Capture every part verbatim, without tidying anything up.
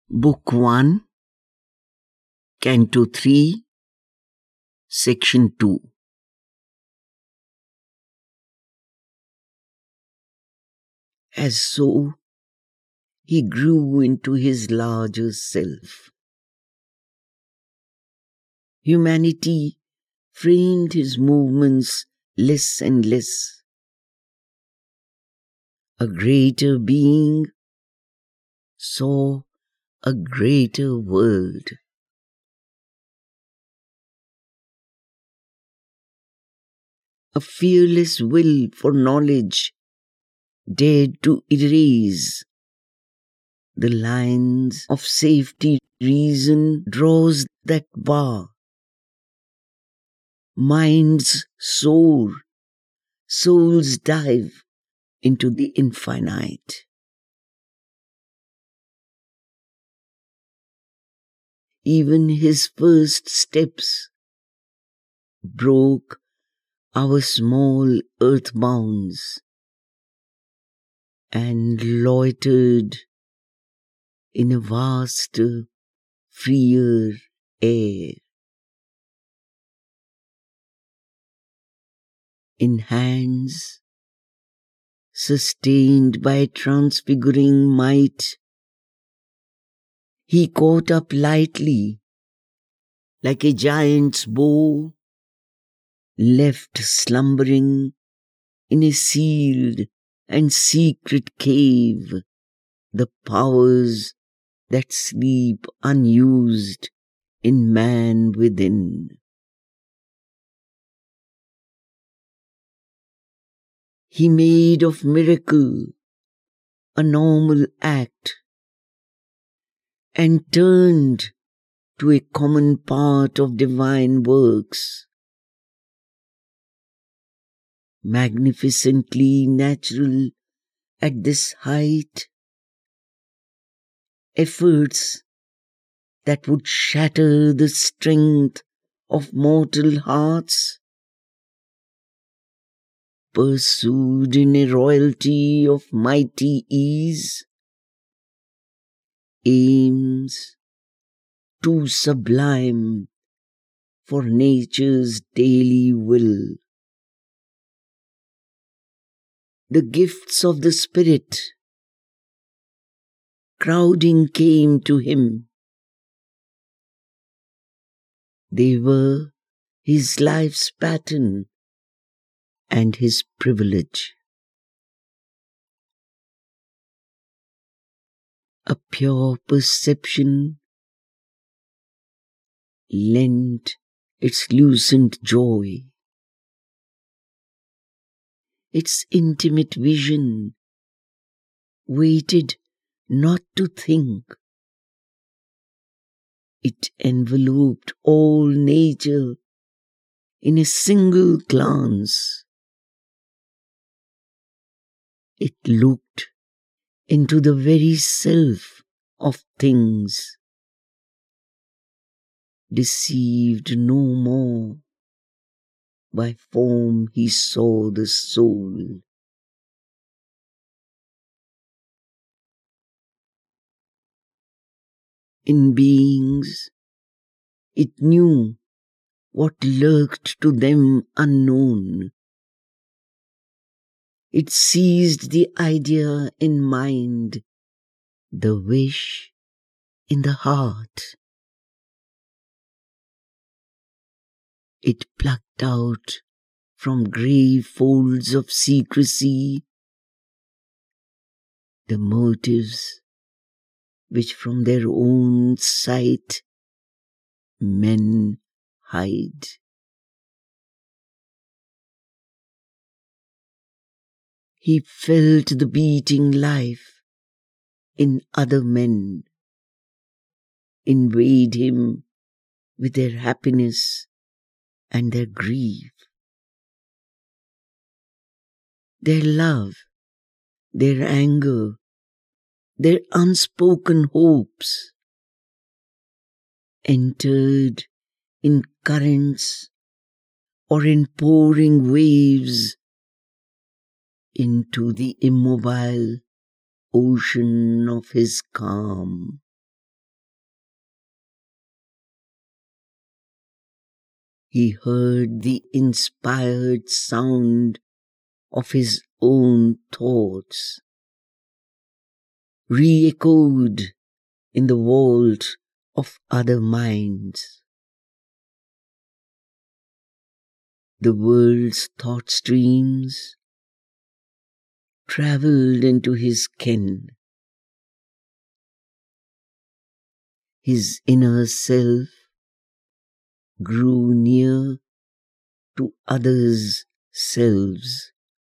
Book one, Canto three, Section two. As so, he grew into his larger self. Humanity framed his movements less and less. A greater being saw a greater world. A fearless will for knowledge dared to erase the lines of safety. Reason draws that bar. Minds soar, souls dive into the infinite. Even his first steps broke our small earth bounds and loitered in a vaster, freer air. In hands sustained by transfiguring might, he caught up lightly, like a giant's bow, left slumbering in a sealed and secret cave, the powers that sleep unused in man within. He made of miracle a normal act and turned to a common part of divine works. Magnificently natural at this height, efforts that would shatter the strength of mortal hearts, pursued in a royalty of mighty ease, aims too sublime for nature's daily will. The gifts of the Spirit crowding came to him. They were his life's pattern and his privilege. A pure perception lent its lucent joy. Its intimate vision waited not to think. It enveloped all nature in a single glance. It looked into the very self of things, deceived no more. By form he saw the soul. In beings, it knew what lurked to them unknown. It seized the idea in mind, the wish in the heart. It plucked out from grey folds of secrecy the motives which from their own sight men hide. He felt the beating life in other men, invade him with their happiness and their grief, their love, their anger, their unspoken hopes, entered in currents or in pouring waves into the immobile ocean of his calm. he heard the inspired sound of his own thoughts, re-echoed in the vault of other minds. The world's thought streams travelled into his ken. His inner self grew near to others' selves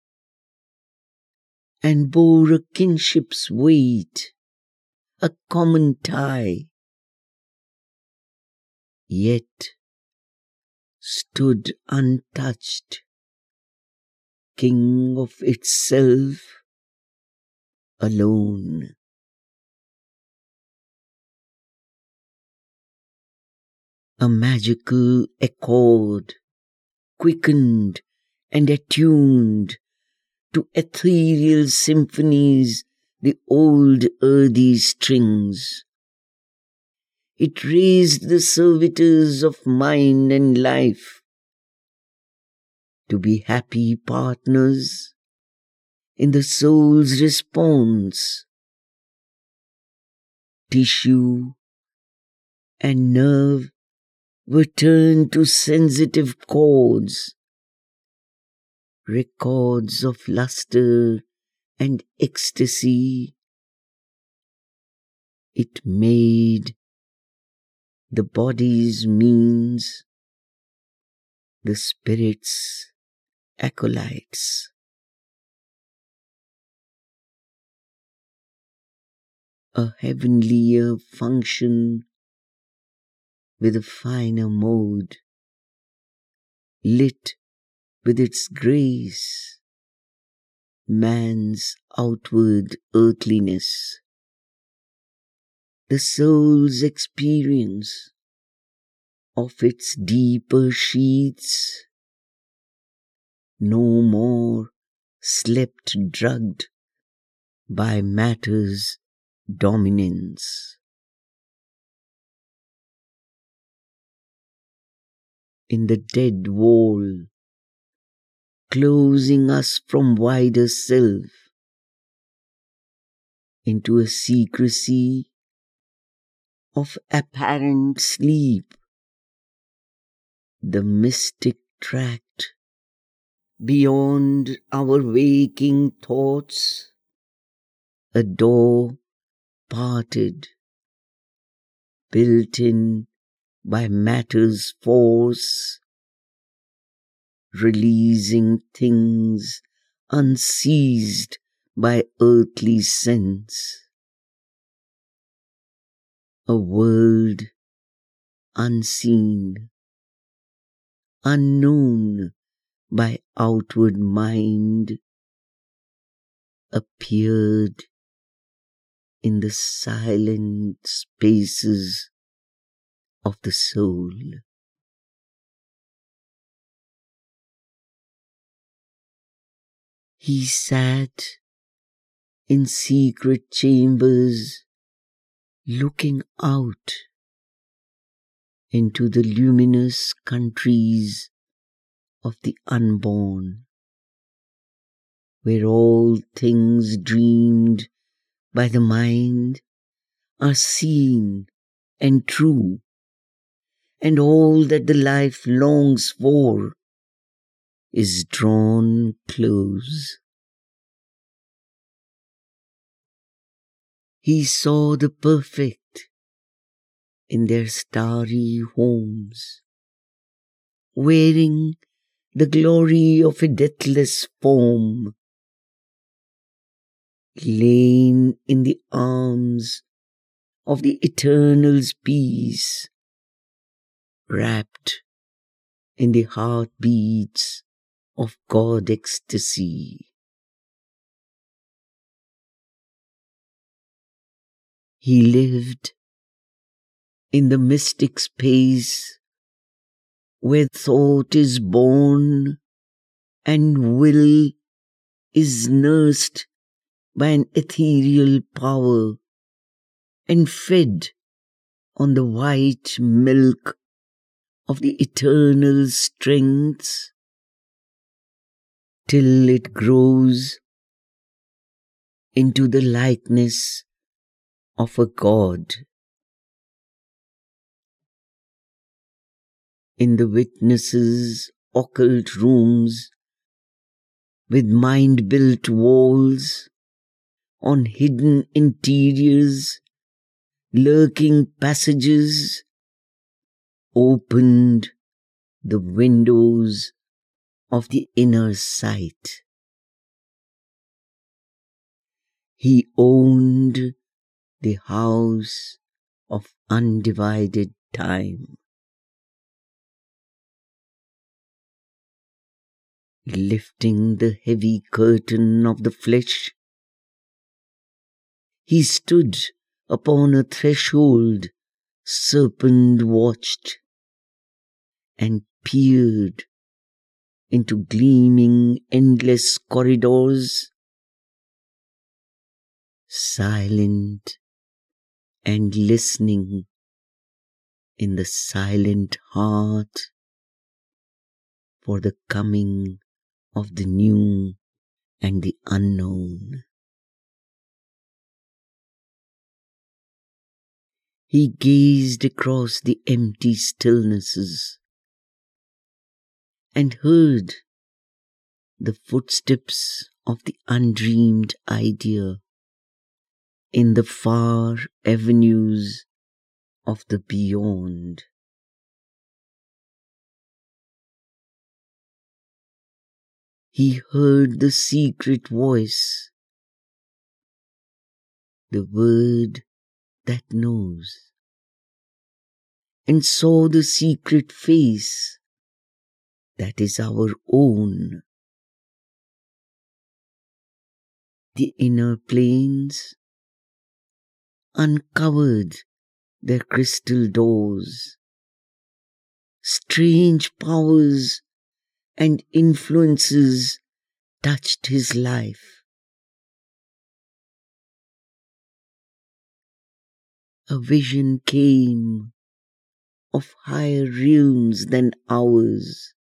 and bore a kinship's weight, a common tie, yet stood untouched, king of itself alone. A magical accord, quickened and attuned to ethereal symphonies the old earthy strings. It raised the servitors of mind and life to be happy partners in the soul's response. Tissue and nerve were turned to sensitive chords, records of luster and ecstasy. It made the body's means, the spirit's acolytes. A heavenlier function with a finer mode, lit with its grace, man's outward earthliness, the soul's experience of its deeper sheaths, no more slept drugged by matter's dominance. In the dead wall, closing us from wider self into a secrecy of apparent sleep, the mystic tract beyond our waking thoughts, a door parted, built in by matter's force, releasing things unseized by earthly sense. A world unseen, unknown by outward mind, appeared in the silent spaces of the soul. He sat in secret chambers, looking out into the luminous countries of the unborn, where all things dreamed by the mind are seen and true, and all that the life longs for is drawn close. He saw the perfect in their starry homes, wearing the glory of a deathless form, lain in the arms of the Eternal's peace, wrapped in the heartbeats of God ecstasy. He lived in the mystic space where thought is born and will is nursed by an ethereal power and fed on the white milk of the eternal strength till it grows into the likeness of a god. In the witnesses' occult rooms with mind-built walls, on hidden interiors, lurking passages, opened the windows of the inner sight. He owned the house of undivided time. Lifting the heavy curtain of the flesh, he stood upon a threshold serpent watched and peered into gleaming endless corridors, silent and listening in the silent heart for the coming of the new and the unknown. He gazed across the empty stillnesses and heard the footsteps of the undreamed idea in the far avenues of the beyond. He heard the secret voice, the word that knows, and saw the secret face that is our own. The inner planes uncovered their crystal doors. Strange powers and influences touched his life. A vision came of higher realms than ours,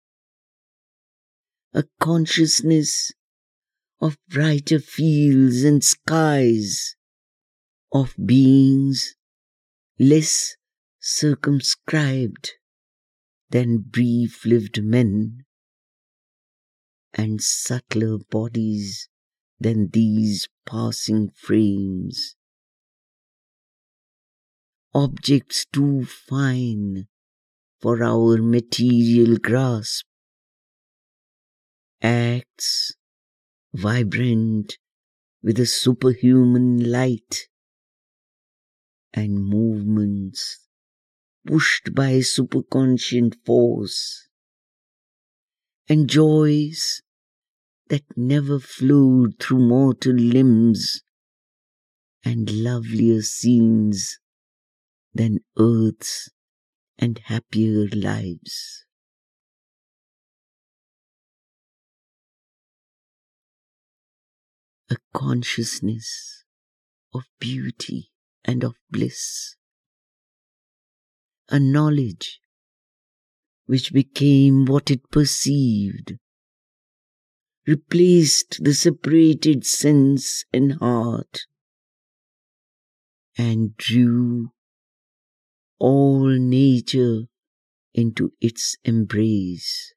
a consciousness of brighter fields and skies, of beings less circumscribed than brief-lived men, and subtler bodies than these passing frames. Objects too fine for our material grasp, acts vibrant with a superhuman light, and movements pushed by a superconscient force, and joys that never flowed through mortal limbs, and lovelier scenes than earth's and happier lives. A consciousness of beauty and of bliss, a knowledge which became what it perceived, replaced the separated sense and heart, and drew all nature into its embrace.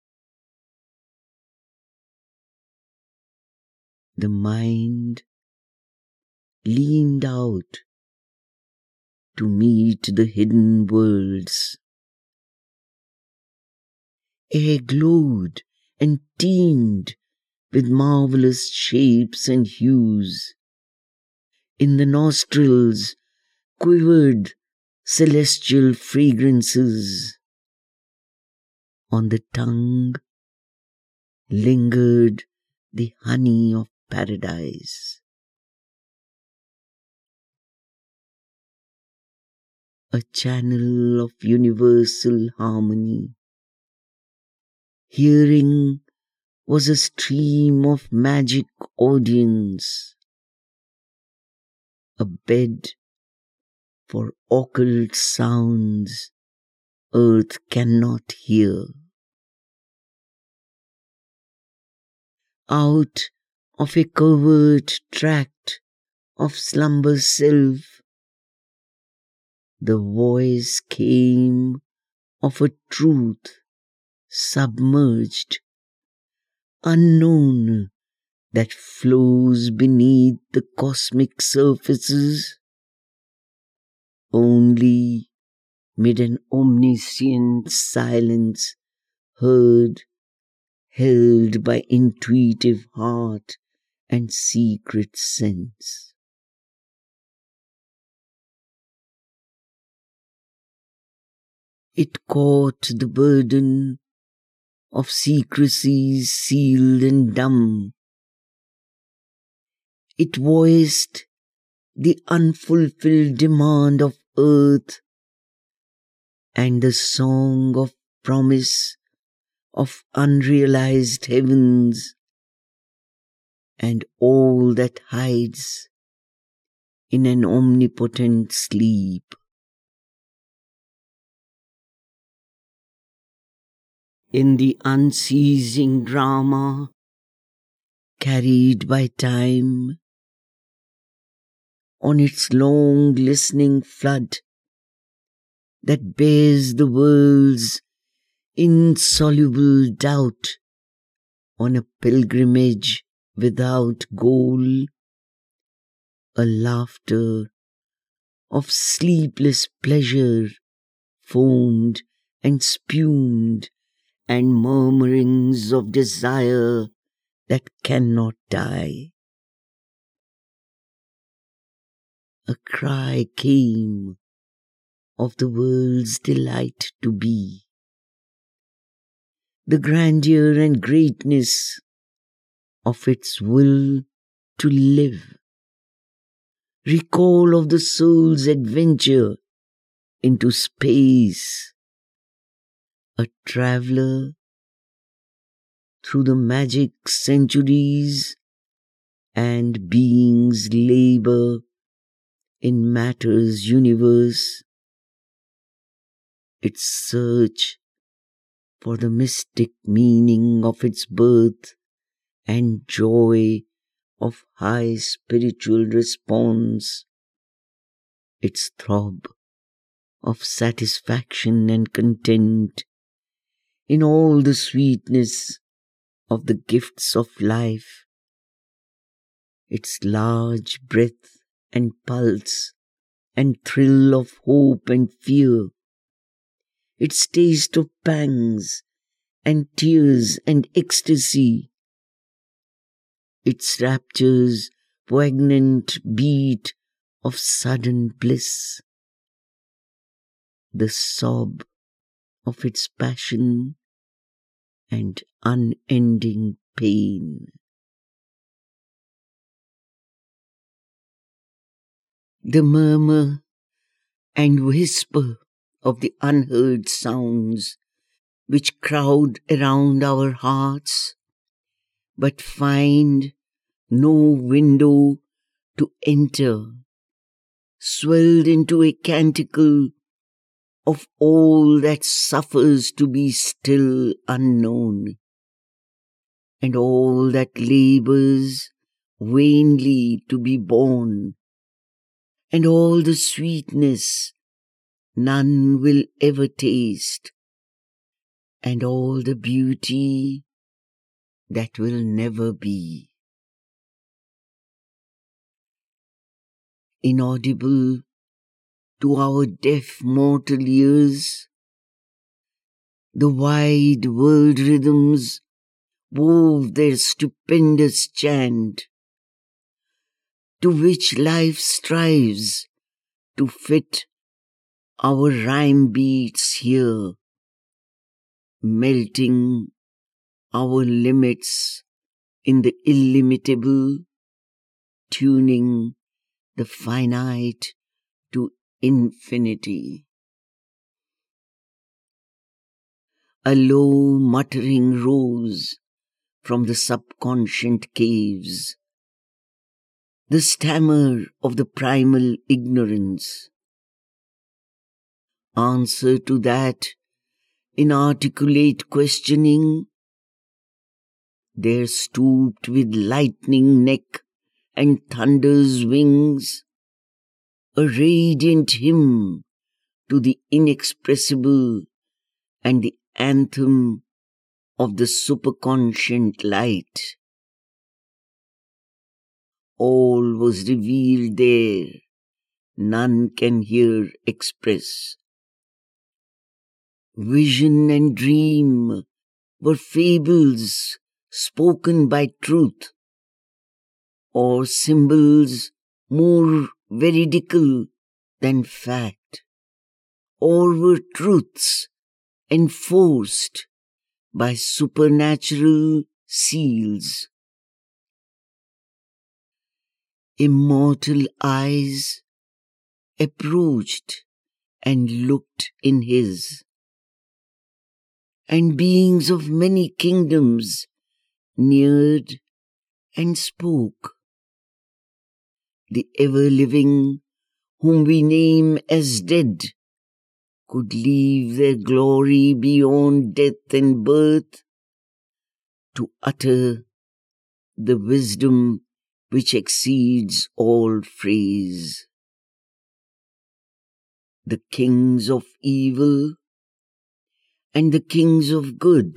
The mind leaned out to meet the hidden worlds. Air glowed and teemed with marvelous shapes and hues. In the nostrils quivered celestial fragrances. On the tongue lingered the honey of paradise. A channel of universal harmony. Hearing was a stream of magic audience, a bed for occult sounds earth cannot hear. Out of a covert tract of slumber's self, the voice came of a truth submerged, unknown, that flows beneath the cosmic surfaces, only mid an omniscient silence heard, held by intuitive heart and secret sense. It caught the burden of secrecies sealed and dumb. It voiced the unfulfilled demand of earth and the song of promise of unrealized heavens, and all that hides in an omnipotent sleep. In the unceasing drama carried by time, on its long listening flood that bears the world's insoluble doubt on a pilgrimage without goal, a laughter of sleepless pleasure foamed and spumed, and murmurings of desire that cannot die. A cry came of the world's delight to be, the grandeur and greatness of its will to live, recall of the soul's adventure into space, a traveler through the magic centuries and being's labor in matter's universe, its search for the mystic meaning of its birth and joy of high spiritual response, its throb of satisfaction and content in all the sweetness of the gifts of life, its large breath and pulse and thrill of hope and fear, its taste of pangs and tears and ecstasy, its rapture's poignant beat of sudden bliss, the sob of its passion and unending pain. The murmur and whisper of the unheard sounds which crowd around our hearts, but find no window to enter, swelled into a canticle of all that suffers to be still unknown, and all that labors vainly to be born, and all the sweetness none will ever taste, and all the beauty that will never be. Inaudible to our deaf mortal ears, the wide world rhythms wove their stupendous chant, to which life strives to fit our rhyme beats here, melting our limits in the illimitable, tuning the finite to infinity. A low muttering rose from the subconscient caves, the stammer of the primal ignorance. Answer to that inarticulate questioning, there stooped with lightning neck and thunder's wings a radiant hymn to the inexpressible and the anthem of the superconscient light. All was revealed there, none can here express. Vision and dream were fables spoken by truth, or symbols more veridical than fact, or were truths enforced by supernatural seals. Immortal eyes approached and looked in his, and beings of many kingdoms neared and spoke. The ever-living, whom we name as dead, could leave their glory beyond death and birth to utter the wisdom which exceeds all phrase. The kings of evil and the kings of good,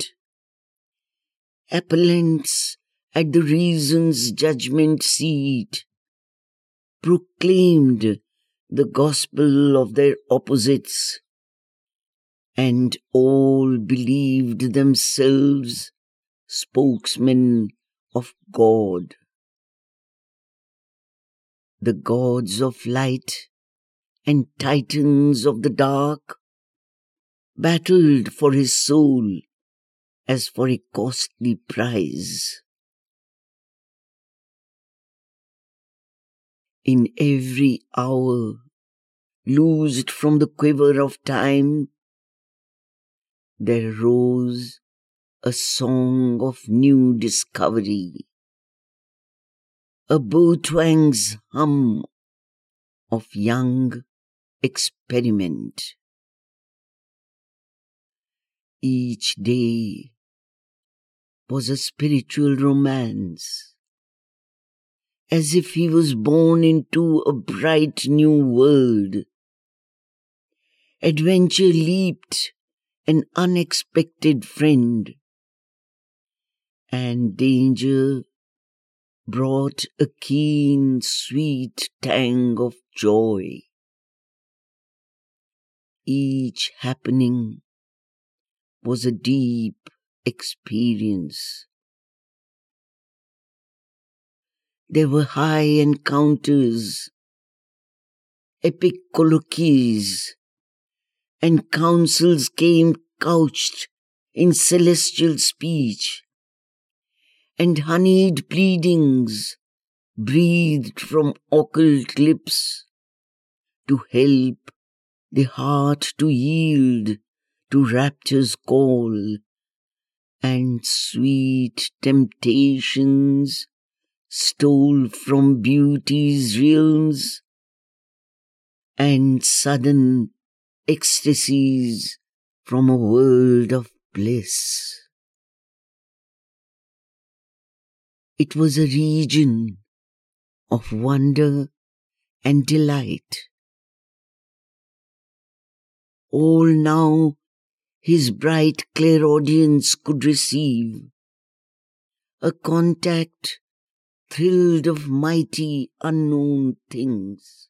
appellants at the reason's judgment seat, proclaimed the gospel of their opposites, and all believed themselves spokesmen of God. The gods of light and titans of the dark battled for his soul as for a costly prize. In every hour, loosed from the quiver of time, there rose a song of new discovery, a bow-twang's hum of young experiment. Each day was a spiritual romance, as if he was born into a bright new world. Adventure leaped an unexpected friend, and danger brought a keen, sweet tang of joy. Each happening was a deep experience. There were high encounters, epic colloquies, and counsels came couched in celestial speech, and honeyed pleadings breathed from occult lips to help the heart to yield to rapture's call, and sweet temptations stole from beauty's realms, and sudden ecstasies from a world of bliss. It was a region of wonder and delight. All now his bright clairaudience could receive, a contact thrilled of mighty unknown things,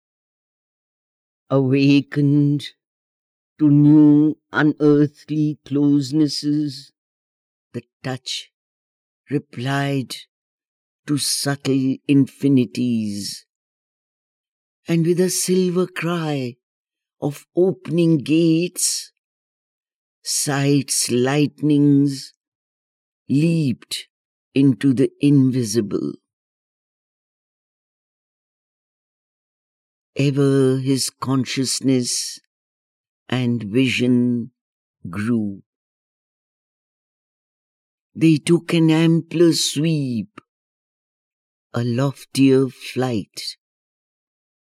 awakened to new unearthly closenesses. The touch replied to subtle infinities, and with a silver cry of opening gates, sight's lightnings leaped into the invisible. Ever his consciousness and vision grew. They took an ampler sweep, a loftier flight.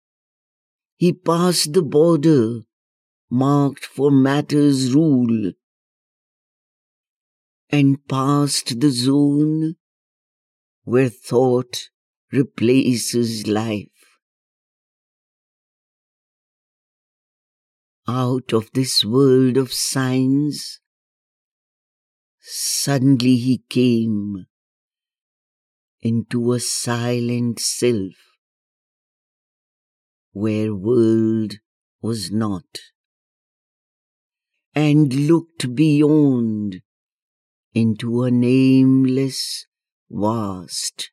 He passed the border marked for matter's rule, and past the zone where thought replaces life. Out of this world of signs, suddenly he came into a silent self where world was not, and looked beyond into a nameless vast.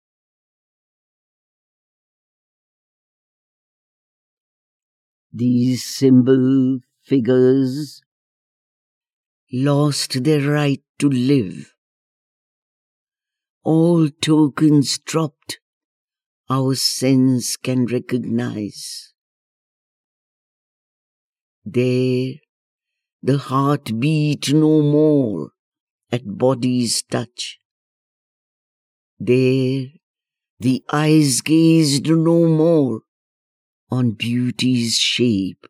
These symbol figures lost their right to live. All tokens dropped our sense can recognize. There the heart beat no more at body's touch. There the eyes gazed no more on beauty's shape.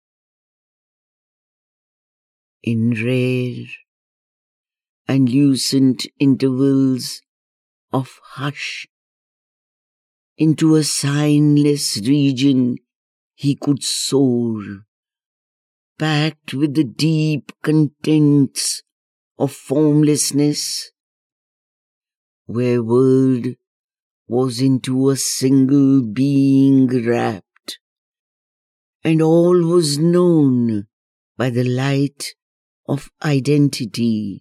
In rare and lucent intervals of hush, into a signless region he could soar, packed with the deep contents of formlessness, where world was into a single being wrapped, and all was known by the light of identity,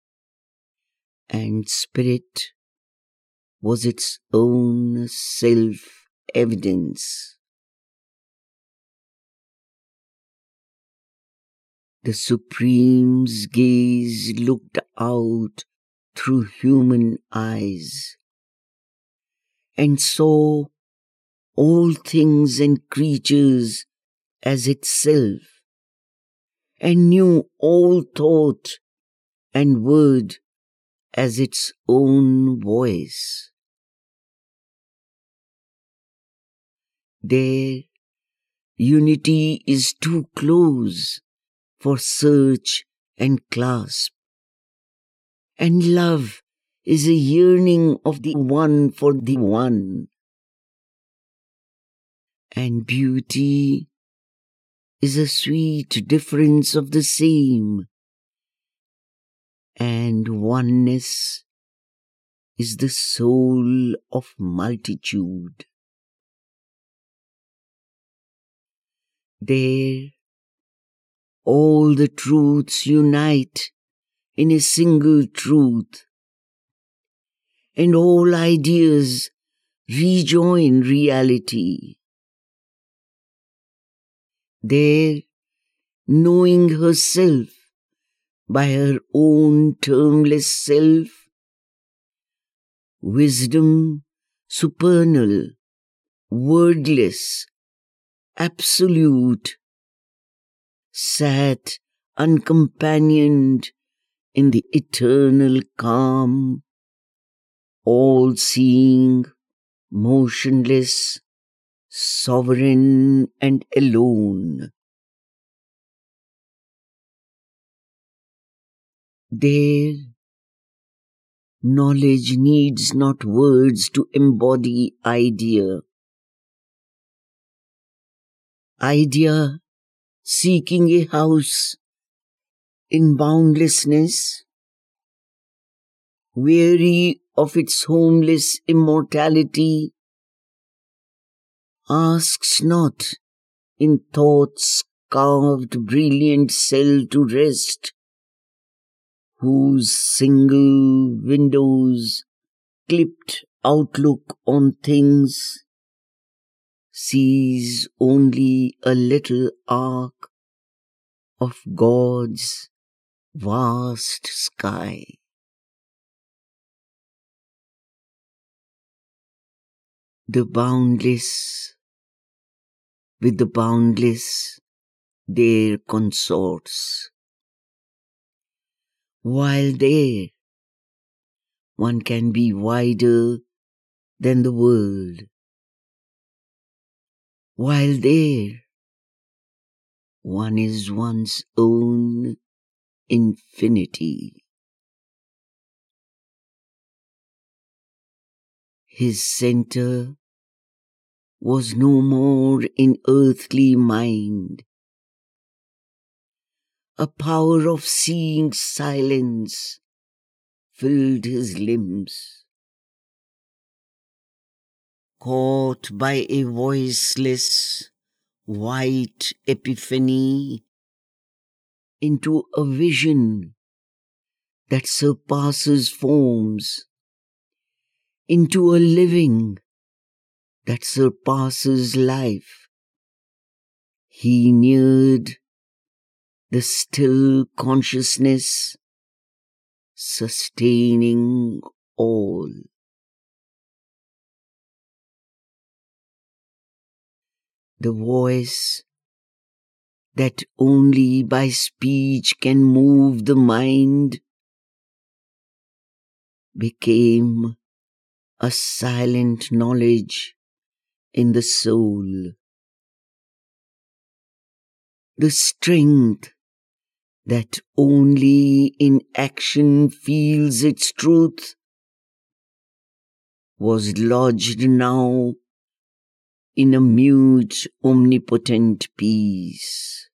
and spirit was its own self-evidence. The Supreme's gaze looked out through human eyes and saw all things and creatures as itself, and knew all thought and word as its own voice. There, unity is too close for search and clasp, and love is a yearning of the one for the one, and beauty is a sweet difference of the same, and oneness is the soul of multitude. There, all the truths unite in a single truth, and all ideas rejoin reality. There, knowing herself by her own termless self, wisdom supernal, wordless, absolute, sat uncompanioned in the eternal calm, all-seeing, motionless, sovereign and alone. There, knowledge needs not words to embody idea. Idea seeking a house in boundlessness, weary of its homeless immortality, asks not in thought's carved brilliant cell to rest, whose single windows clipped outlook on things sees only a little arc of God's vast sky. The boundless with the boundless their consorts, while there one can be wider than the world, while there one is one's own infinity. His center was no more in earthly mind. A power of seeing silence filled his limbs. Caught by a voiceless, white epiphany into a vision that surpasses forms, into a living that surpasses life, he neared the still consciousness sustaining all. The voice that only by speech can move the mind became a silent knowledge in the soul. The strength that only in action feels its truth was lodged now in a mute, omnipotent peace.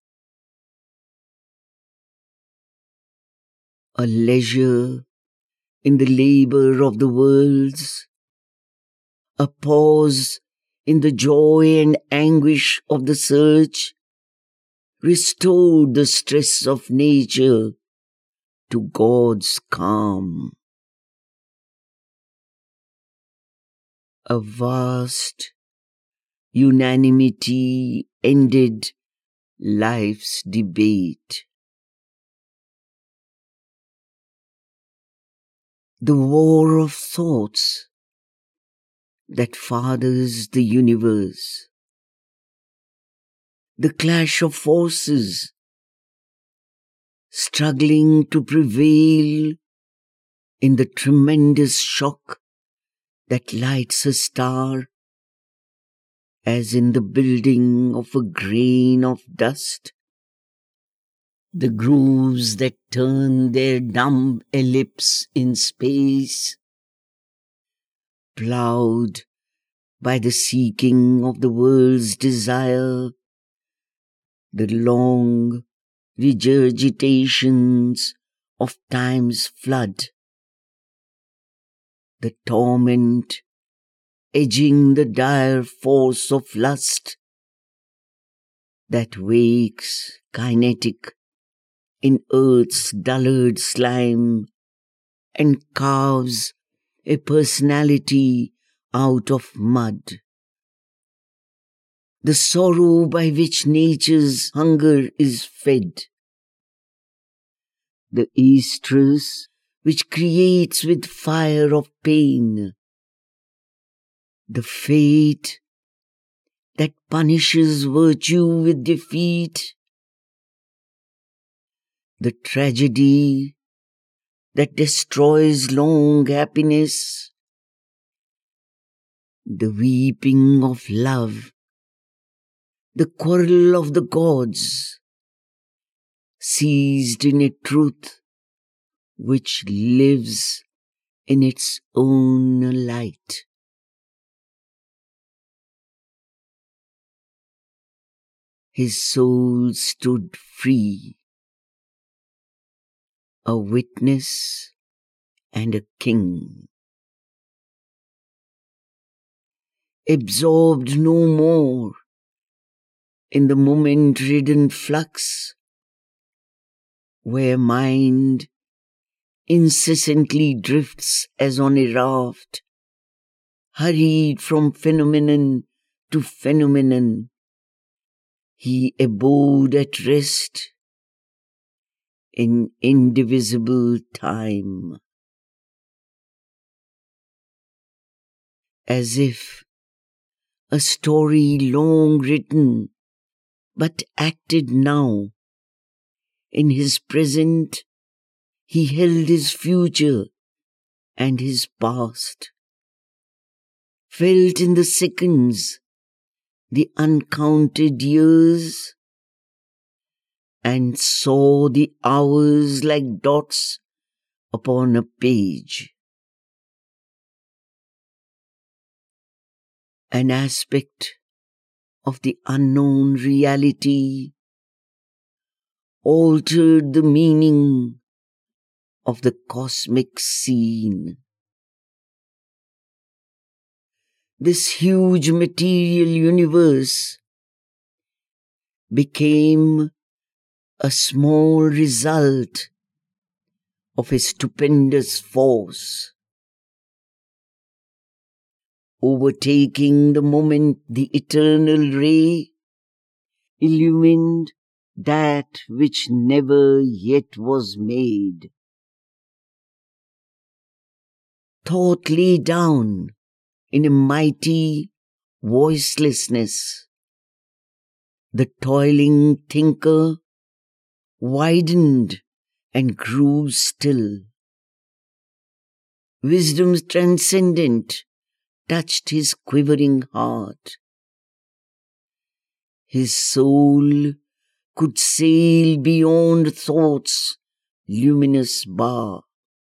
A leisure in the labor of the worlds, a pause in the joy and anguish of the search, restored the stress of nature to God's calm. A vast unanimity ended life's debate. The war of thoughts that fathers the universe, the clash of forces struggling to prevail in the tremendous shock that lights a star, as in the building of a grain of dust, the grooves that turn their dumb ellipse in space, plowed by the seeking of the world's desire, the long regurgitations of time's flood, the torment edging the dire force of lust that wakes kinetic in earth's dullard slime and carves a personality out of mud. The sorrow by which nature's hunger is fed, the estrus which creates with fire of pain, the fate that punishes virtue with defeat, the tragedy that destroys long happiness, the weeping of love, the quarrel of the gods, seized in a truth which lives in its own light. His soul stood free, a witness and a king, absorbed no more in the moment-ridden flux, where mind incessantly drifts as on a raft, hurried from phenomenon to phenomenon. He abode at rest in indivisible time, as if a story long written but acted now. In his present he held his future and his past, felt in the seconds the uncounted years, and saw the hours like dots upon a page. an aspect of the unknown reality, altered the meaning of the cosmic scene. This huge material universe became a small result of a stupendous force, overtaking the moment the eternal ray illumined that which never yet was made. Thought lay down in a mighty voicelessness. The toiling thinker widened and grew still. Wisdom's transcendent touched his quivering heart. His soul could sail beyond thought's luminous bar.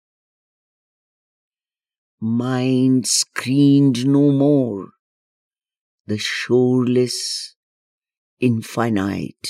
Mind screened no more the shoreless infinite.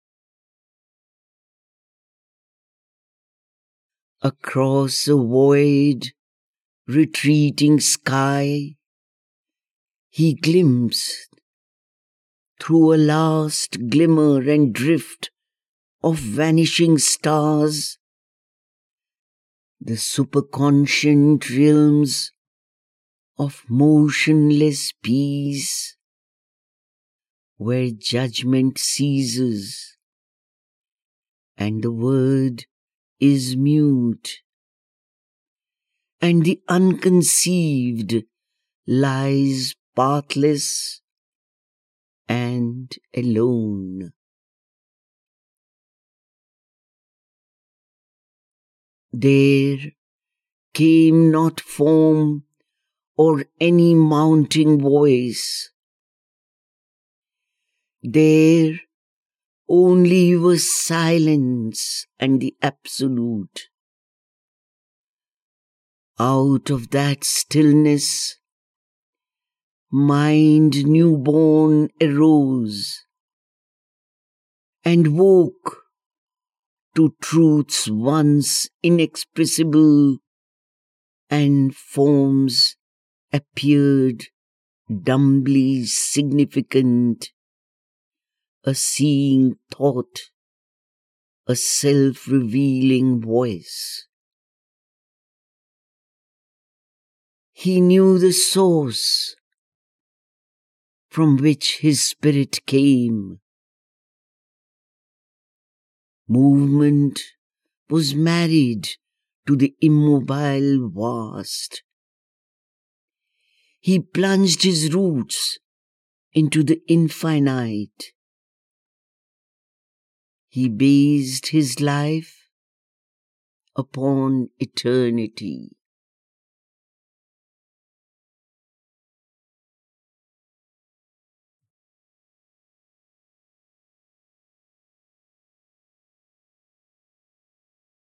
Across a void, retreating sky, he glimpsed through a last glimmer and drift of vanishing stars the superconscient realms of motionless peace, where judgment ceases and the word is mute, and the unconceived lies pathless and alone. There came not form or any mounting voice. There only was silence and the absolute. Out of that stillness, mind newborn arose and woke to truths once inexpressible, and forms appeared dumbly significant, a seeing thought, a self-revealing voice. He knew the source from which his spirit came. Movement was married to the immobile vast. He plunged his roots into the infinite. He based his life upon eternity.